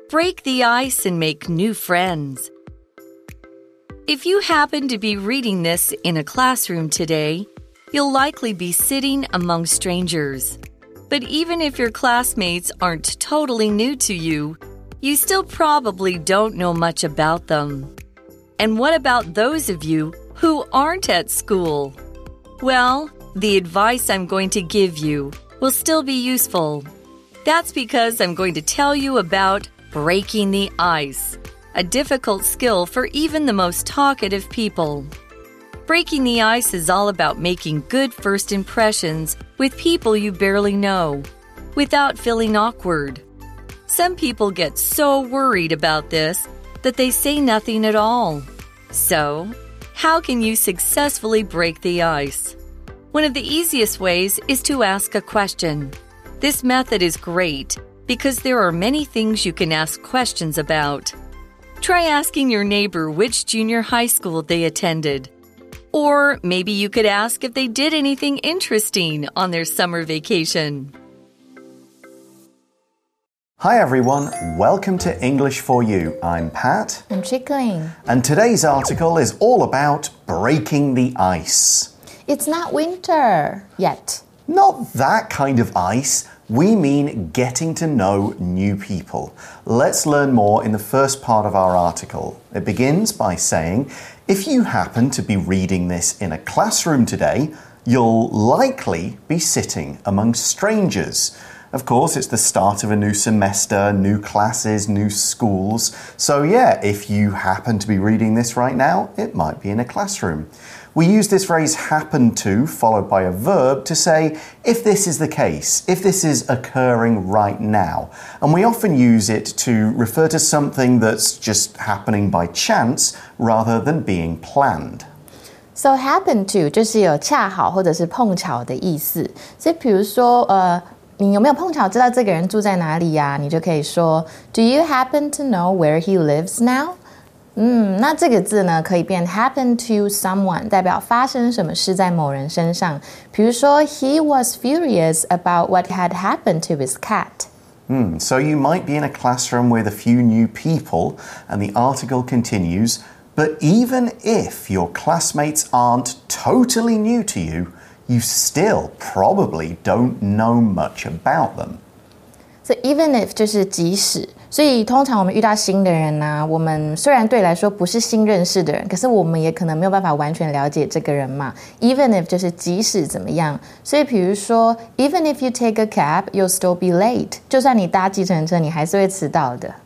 Break the ice and make new friends. If you happen to be reading this in a classroom today, you'll likely be sitting among strangers. But even if your classmates aren't totally new to you, you still probably don't know much about them. And what about those of you who aren't at school? Well, the advice I'm going to give you will still be useful. That's because I'm going to tell you about breaking the ice, a difficult skill for even the most talkative people. Breaking the ice is all about making good first impressions with people you barely know, without feeling awkward. Some people get so worried about this that they say nothing at all. So, how can you successfully break the ice? One of the easiest ways is to ask a question. This method is great because there are many things you can ask questions about. Try asking your neighbor which junior high school they attended. Or maybe you could ask if they did anything interesting on their summer vacation. Hi everyone, welcome to English for You. I'm Pat. I'm Chickling. And today's article is all about breaking the ice. It's not winter yet. Not that kind of ice. We mean getting to know new people. Let's learn more in the first part of our article. It begins by saying, if you happen to be reading this in a classroom today, you'll likely be sitting among strangers. Of course, it's the start of a new semester, new classes, new schools. So yeah, if you happen to be reading this right now, it might be in a classroom. We use this phrase happen to, followed by a verb, to say if this is the case, if this is occurring right now. And we often use it to refer to something that's just happening by chance rather than being planned. So happen to 就是有恰好或者是碰巧的意思。所以比如说你有没有碰巧知道这个人住在哪裡呀？你就可以说 Do you happen to know where he lives now? 那这个字呢可以变 happen to someone 代表发生什麼事在某人身上。比如說 He was furious about what had happened to his cat. So you might be in a classroom with a few new people, and the article continues, but even if your classmates aren't totally new to you, you still probably don't know much about them. So even if 就是即使，所以通常我们遇到新的人啊，我們雖然對來說不是新認識的人，可是我們也可能沒有辦法完全了解這個人嘛。Even if 就是即使怎麼樣，所以比如說 Even if you take a cab, you'll still be late. 就算你搭計程車，你還是會遲到的。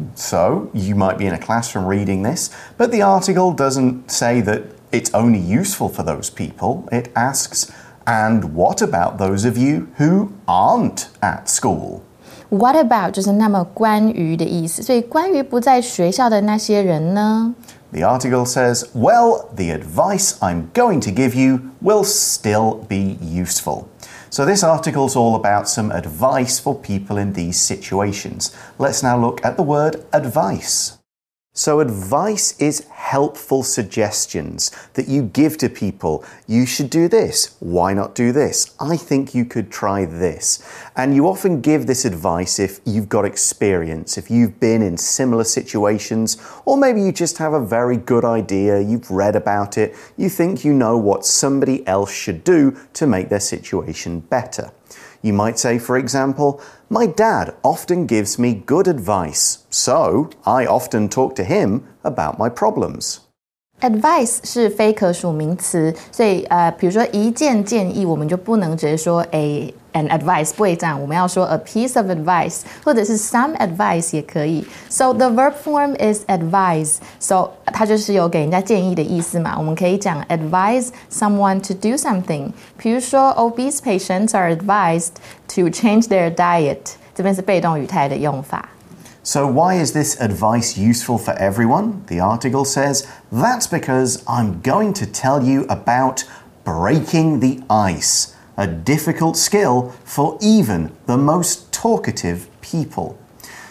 So you might be in a classroom reading this, but the article doesn't say that it's only useful for those people. It asks, and what about those of you who aren't at school?What about 就是那麼關於的意思，所以關於不在學校的那些人呢？ The article says, well, the advice I'm going to give you will still be useful. So this article's all about some advice for people in these situations. Let's now look at the word advice. So advice is helpful suggestions that you give to people. You should do this. Why not do this? I think you could try this. And you often give this advice if you've got experience, if you've been in similar situations, or maybe you just have a very good idea, you've read about it, you think you know what somebody else should do to make their situation better. You might say, for example, my dad often gives me good advice, so I often talk to him about my problems. Advice 是非可数名詞，所以比如說一件建議，我們就不能直接說an advice 不會這樣，我們要說 a piece of advice 或者是 some advice 也可以。So the verb form is advise. So 它就是有給人家建議的意思嘛，我們可以講 advise someone to do something. 比如說 obese patients are advised to change their diet. 這邊是被動語態的用法。 So why is this advice useful for everyone? The article says, that's because I'm going to tell you about breaking the ice, a difficult skill for even the most talkative people.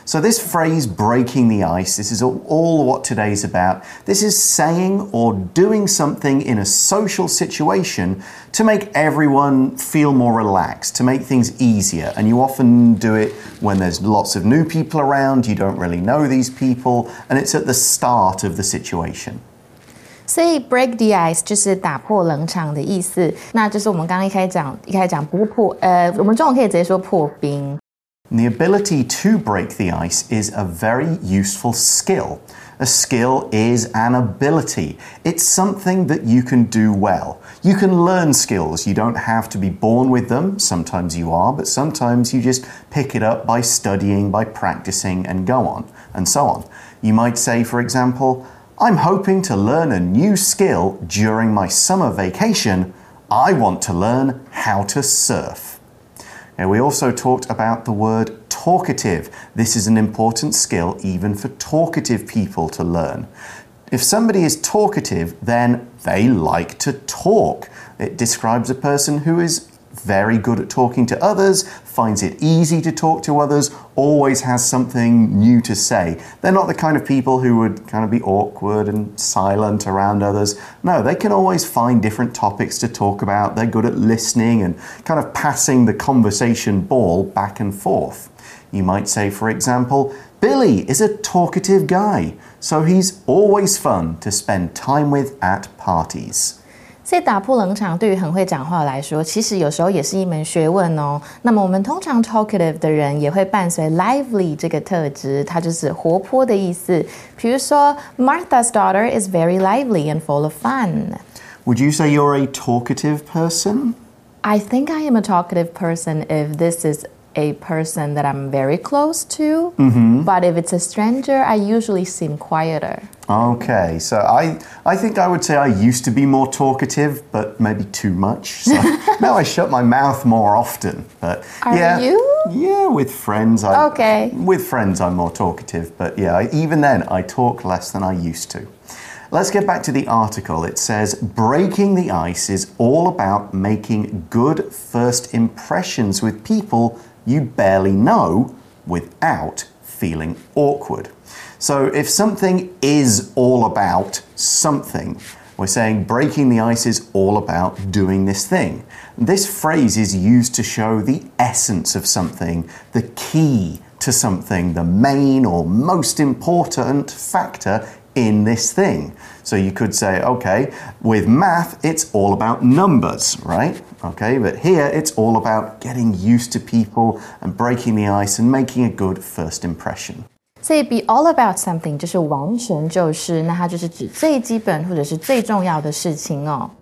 So this phrase, breaking the ice, this is all what today's about. This is saying or doing something in a social situation to make everyone feel more relaxed, to make things easier. And you often do it when there's lots of new people around, you don't really know these people, and it's at the start of the situation. 所以 break the ice 就是打破冷场的意思，那就是我们刚刚一開始講不破，我們中文可以直接說破冰。 The ability to break the ice is a very useful skill. A skill is an ability. It's something that you can do well. You can learn skills. You don't have to be born with them. Sometimes you are, but sometimes you just pick it up by studying, by practicing, and go on, and so on. You might say, for example, I'm hoping to learn a new skill during my summer vacation. I want to learn how to surf. Now, we also talked about the word talkative. This is an important skill even for talkative people to learn. If somebody is talkative, then they like to talk. It describes a person who is very good at talking to others, finds it easy to talk to others, always has something new to say. They're not the kind of people who would kind of be awkward and silent around others. No, they can always find different topics to talk about. They're good at listening and kind of passing the conversation ball back and forth. You might say, for example, Billy is a talkative guy, so he's always fun to spend time with at parties. 所以打破冷场对于很会講話來說，其實有時候也是一門學問哦。那麼我們通常 talkative 的人也會伴隨 lively 這個特質，它就是活潑的意思。比如說 Martha's daughter is very lively and full of fun. Would you say you're a talkative person? I think I am a talkative person if this is a person that I'm very close to. But if it's a stranger, I usually seem quieter. Okay, so I think I would say I used to be more talkative, but maybe too much. So now I shut my mouth more often. But Are you? Yeah, with friends. Okay. With friends, I'm more talkative. But yeah, even then, I talk less than I used to. Let's get back to the article. It says, breaking the ice is all about making good first impressions with people you barely know without feeling awkward. So if something is all about something, we're saying breaking the ice is all about doing this thing. This phrase is used to show the essence of something, the key to something, the main or most important factor in this thing. So you could say, okay, with math, it's all about numbers, right? Okay, but here it's all about getting used to people and breaking the ice and making a good first impression. 所以 be all about something 就是完全就是，那它就是指最基本或者是最重要的事情哦。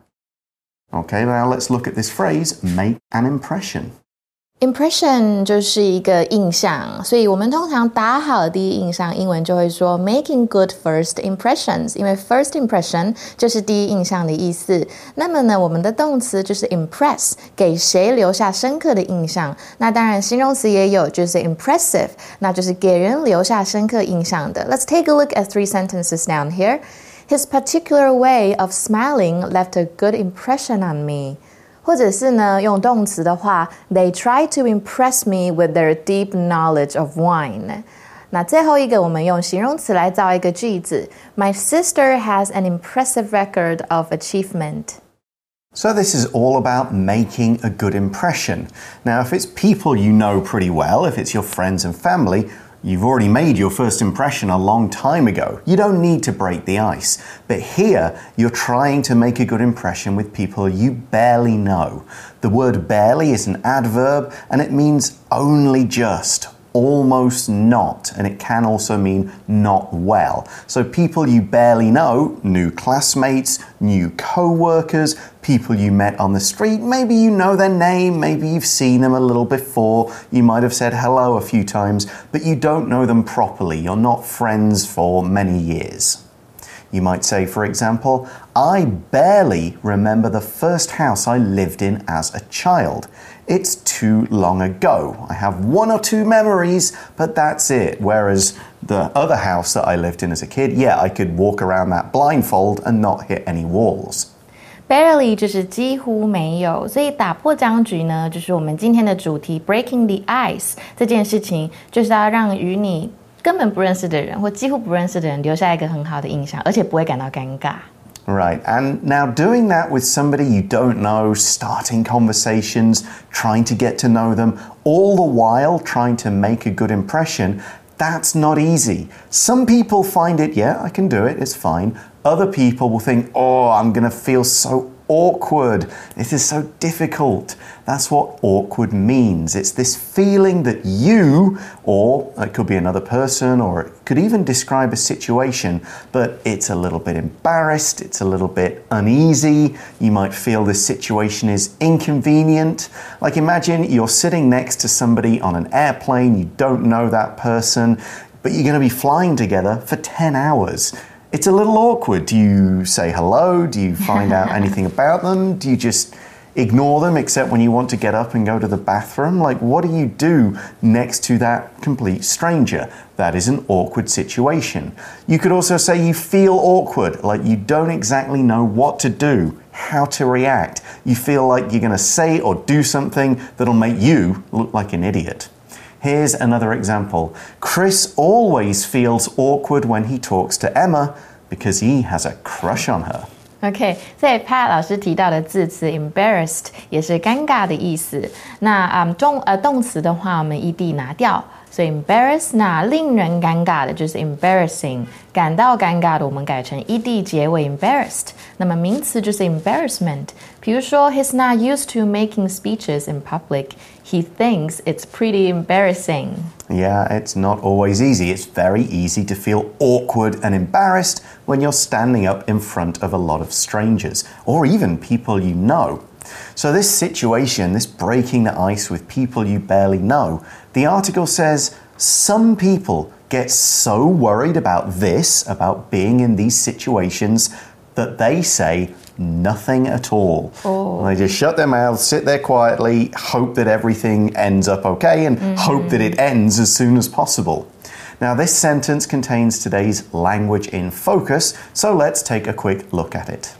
Okay, now let's look at this phrase, make an impression. Impression 就是一個印象，所以我們通常打好第一印象，英文就會說 making good first impressions， 因為 first impression 就是第一印象的意思。那麼呢，我們的動詞就是 impress， 給誰留下深刻的印象。那當然形容詞也有，就是 impressive， 那就是給人留下深刻印象的。Let's take a look at 3 sentences down here. His particular way of smiling left a good impression on me. 或者是呢，用動詞的話 They try to impress me with their deep knowledge of wine. 那最後一個我們用形容詞來造一個句子 My sister has an impressive record of achievement. So this is all about making a good impression. Now, if it's people you know pretty well, if it's your friends and family, you've already made your first impression a long time ago. You don't need to break the ice. But here, you're trying to make a good impression with people you barely know. The word barely is an adverb, and it means only just, almost not, and it can also mean not well. So people you barely know, new classmates, new co-workers, people you met on the street, maybe you know their name, maybe you've seen them a little before, you might have said hello a few times, but you don't know them properly, you're not friends for many years. You might say, for example, I barely remember the first house I lived in as a child. It's too long ago. I have 1 or 2 memories, but that's it. Whereas the other house that I lived in as a kid, yeah, I could walk around that blindfold and not hit any walls. Barely 就是幾乎沒有，所以打破僵局呢，就是我們今天的主題 breaking the ice 這件事情，就是要讓與你根本不認識的人或幾乎不認識的人留下一個很好的印象，而且不會感到尷尬。 Right, and now doing that with somebody you don't know, starting conversations, trying to get to know them, all the while trying to make a good impression, that's not easy. Some people find it, yeah, I can do it, it's fine. Other people will think, oh, I'm going to feel so awkward. This is so difficult. That's what awkward means. It's this feeling that you, or it could be another person, or it could even describe a situation, but it's a little bit embarrassed, it's a little bit uneasy. You might feel this situation is inconvenient. Like imagine you're sitting next to somebody on an airplane, you don't know that person, but you're going to be flying together for 10 hours. It's a little awkward. Do you say hello? Do you find out anything about them? Do you just ignore them except when you want to get up and go to the bathroom? Like, what do you do next to that complete stranger? That is an awkward situation. You could also say you feel awkward, like you don't exactly know what to do, how to react. You feel like you're going to say or do something that'll make you look like an idiot. Here's another example. Chris always feels awkward when he talks to Emma because he has a crush on her. OK， 所以 Pat 老師提到的字詞 embarrassed 也是尷尬的意思。那動詞的話，我們 ed 拿掉，所以 embarrass 那令人尷尬的就是 embarrassing， 感到尷尬的我們改成 ed 結尾 embarrassed。那麼名詞就是 embarrassment。比如說 He's not used to making speeches in public. He thinks it's pretty embarrassing. Yeah, it's not always easy. It's very easy to feel awkward and embarrassed when you're standing up in front of a lot of strangers, or even people you know. So this situation, this breaking the ice with people you barely know, the article says some people get so worried about this, about being in these situations, that they say nothing at all. Oh. They just shut their mouths, sit there quietly, hope that everything ends up okay, and hope that it ends as soon as possible. Now, this sentence contains today's language in focus, so let's take a quick look at it.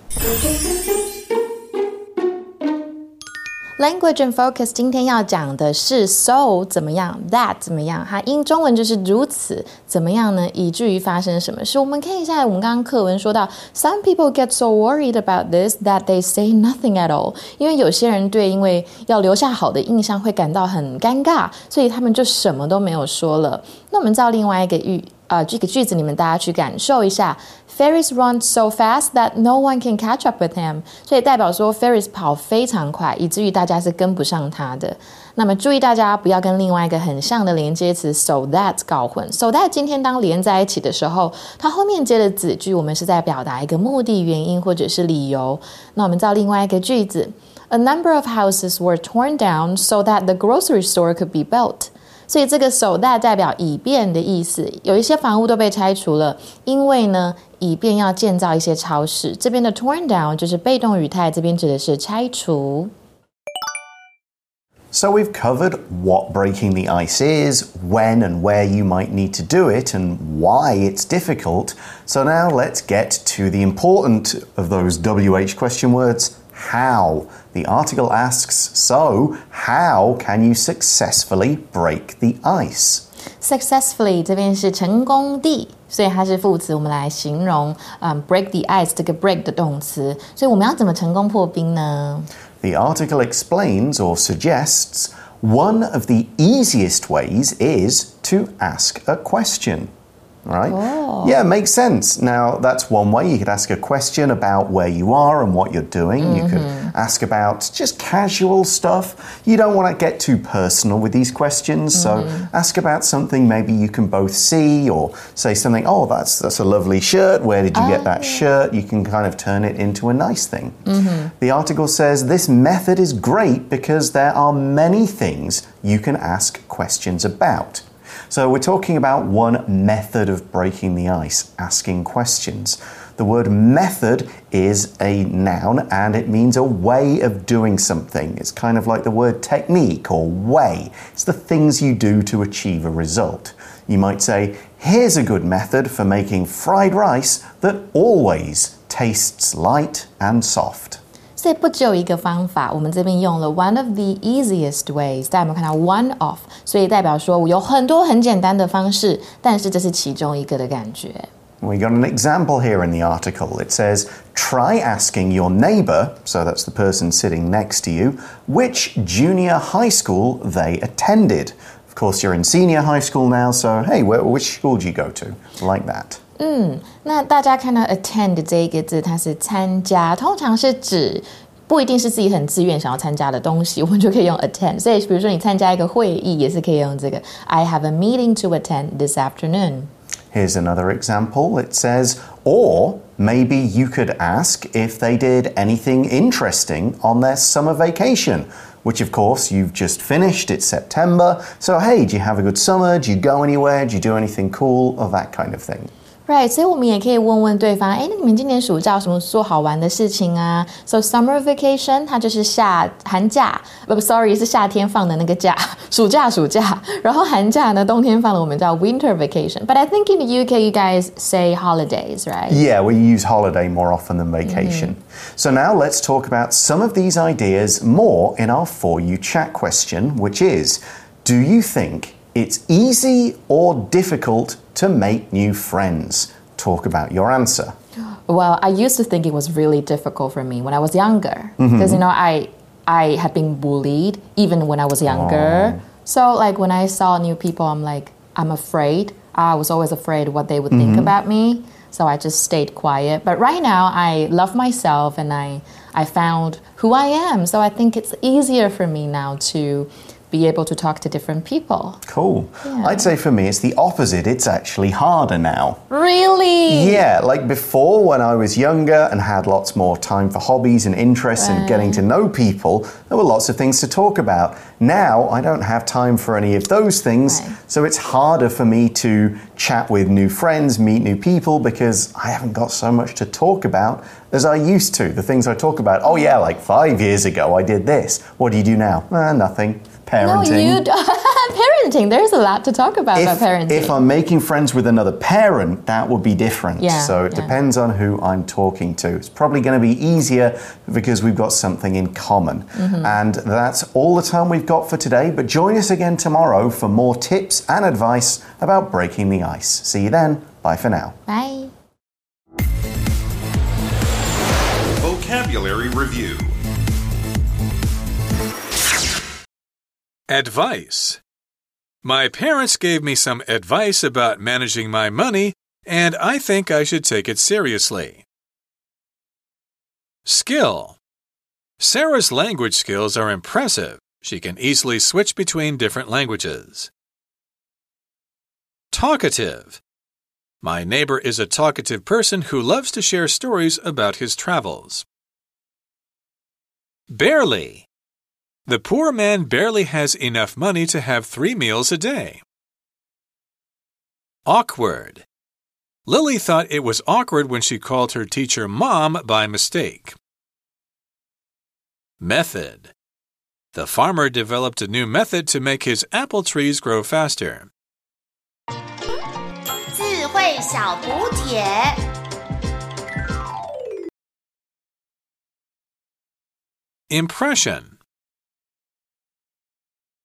Language and focus 今天要講的是 so 怎麼樣 that 怎麼樣它英中文就是如此怎麼樣呢以至於發生什麼事我們看一下我們剛剛課文說到 Some people get so worried about this that they say nothing at all 因為有些人對因為要留下好的印象會感到很尷尬所以他們就什麼都沒有說了那我們照另外一個這個句子你們大家去感受一下Ferris runs so fast that no one can catch up with him 所以代表說 Ferris 跑非常快以至於大家是跟不上他的那麼注意大家不要跟另外一個很像的連接詞 so that 搞混 so that 今天當連在一起的時候它後面接的子句我們是在表達一個目的原因或者是理由那我們照另外一個句子 A number of houses were torn down so that the grocery store could be built所以這個 so that 代表以便的意思有一些房屋都被拆除了因為呢以便要建造一些超市這邊的 torn down 就是被動語態這邊指的是拆除 So we've covered what breaking the ice is, when and where you might need to do it, and why it's difficult. So now let's get to the important of those WH question words, how. The article asks, so how can you successfully break the ice? Successfully 這邊是成功地所以它是副詞我們來形容break the ice 這個 break 的動詞所以我們要怎麼成功破冰呢 The article explains or suggests one of the easiest ways is to ask a question. Right? Oh. Yeah, makes sense. Now, that's one way. You could ask a question about where you are and what you're doing. You could ask about just casual stuff. You don't want to get too personal with these questions. So ask about something maybe you can both see or say something, oh, that's a lovely shirt. Where did you get that shirt? You can kind of turn it into a nice thing. The article says this method is great because there are many things you can ask questions about. So we're talking about one method of breaking the ice, asking questions. The word method is a noun and it means a way of doing something. It's kind of like the word technique or way. It's the things you do to achieve a result. You might say, here's a good method for making fried rice that always tastes light and soft. 所以不只有一個方法，我們這邊用了 one of the easiest ways， 大家有沒有看到 one of， 所以代表說我有很多很簡單的方式，但是這是其中一個的感覺。 We got an example here in the article. It says, try asking your neighbour, so that's the person sitting next to you, which junior high school they attended. Of course, you're in senior high school now, so hey, which school do you go to? Like that. 那大家看到 attend 這一個字，它是參加，通常是指不一定是自己很自願想要參加的東西，我們就可以用 attend。所以比如說你參加一個會議，也是可以用這個 I have a meeting to attend this afternoon. Here's another example. It says, or maybe you could ask if they did anything interesting on their summer vacation, which of course you've just finished. It's September. So, hey, do you have a good summer? Do you go anywhere? Do you do anything cool? Or that kind of thing. Right, 所以我们也可以問問對方，那你們今年暑假有什麼做好玩的事情啊 ？So summer vacation 它就是寒假，是夏天放的那個假，暑假。然後寒假呢，冬天放的我們叫 winter vacation. But I think in the UK you guys say holidays, right? Yeah, we use holiday more often than vacation. So now let's talk about some of these ideas more in our For You Chat question, which is, do you think it's easy or difficult to make new friends? Talk about your answer. Well, I used to think it was really difficult for me when I was younger. Because, I had been bullied even when I was younger. So, like, when I saw new people, I'm afraid. I was always afraid what they would think about me. So I just stayed quiet. But right now, I love myself and I found who I am. So I think it's easier for me now to be able to talk to different people. Cool. Yeah. I'd say for me it's the opposite. It's actually harder now. Really? Yeah, like before when I was younger and had lots more time for hobbies and interests and getting to know people, there were lots of things to talk about. Now I don't have time for any of those things, so it's harder for me to chat with new friends, meet new people, because I haven't got so much to talk about as I used to. The things I talk about, oh yeah, like 5 years ago I did this. What do you do now? Nothing. Parenting. No, you don't. Parenting. There's a lot to talk about parenting. If I'm making friends with another parent, that would be different. Yeah, so it depends on who I'm talking to. It's probably going to be easier because we've got something in common. And that's all the time we've got for today. But join us again tomorrow for more tips and advice about breaking the ice. See you then. Bye for now. Bye. Vocabulary Review. Advice. My parents gave me some advice about managing my money, and I think I should take it seriously. Skill. Sarah's language skills are impressive. She can easily switch between different languages. Talkative. My neighbor is a talkative person who loves to share stories about his travels. Barely. The poor man barely has enough money to have 3 meals a day. Awkward. Lily thought it was awkward when she called her teacher Mom by mistake. Method. The farmer developed a new method to make his apple trees grow faster. 智慧小补帖 Impression.